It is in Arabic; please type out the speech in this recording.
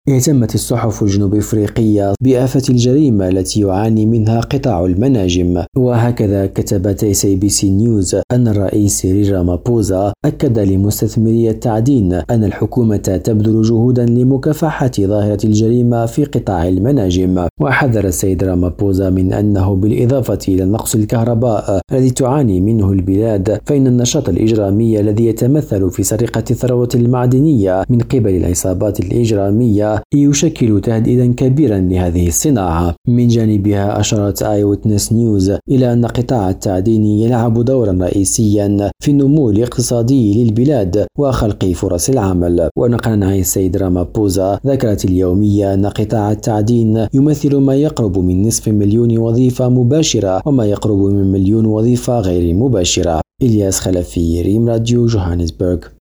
اهتمت الصحف الجنوب أفريقية بآفة الجريمة التي يعاني منها قطاع المناجم، وهكذا كتبت SABC نيوز أن الرئيس سيريل رامابوزا أكد لمستثمري التعدين أن الحكومة تبذل جهودا لمكافحة ظاهرة الجريمة في قطاع المناجم. وحذر السيد رامابوزا من أنه بالإضافة إلى نقص الكهرباء الذي تعاني منه البلاد، فإن النشاط الإجرامي الذي يتمثل في سرقة الثروة المعدنية من قبل العصابات الإجرامية يشكل تهديدا كبيرا لهذه الصناعة. من جانبها أشارت آي-ويتنس نيوز إلى أن قطاع التعدين يلعب دورا رئيسيا في النمو الاقتصادي للبلاد وخلق فرص العمل. ونقلا عن السيد رامابوزا، ذكرت اليومية أن قطاع التعدين يمثل ما يقرب من نصف مليون وظيفة مباشرة وما يقرب من مليون وظيفة غير مباشرة. إلياس خلفي، ريم راديو، جوهانسبرغ.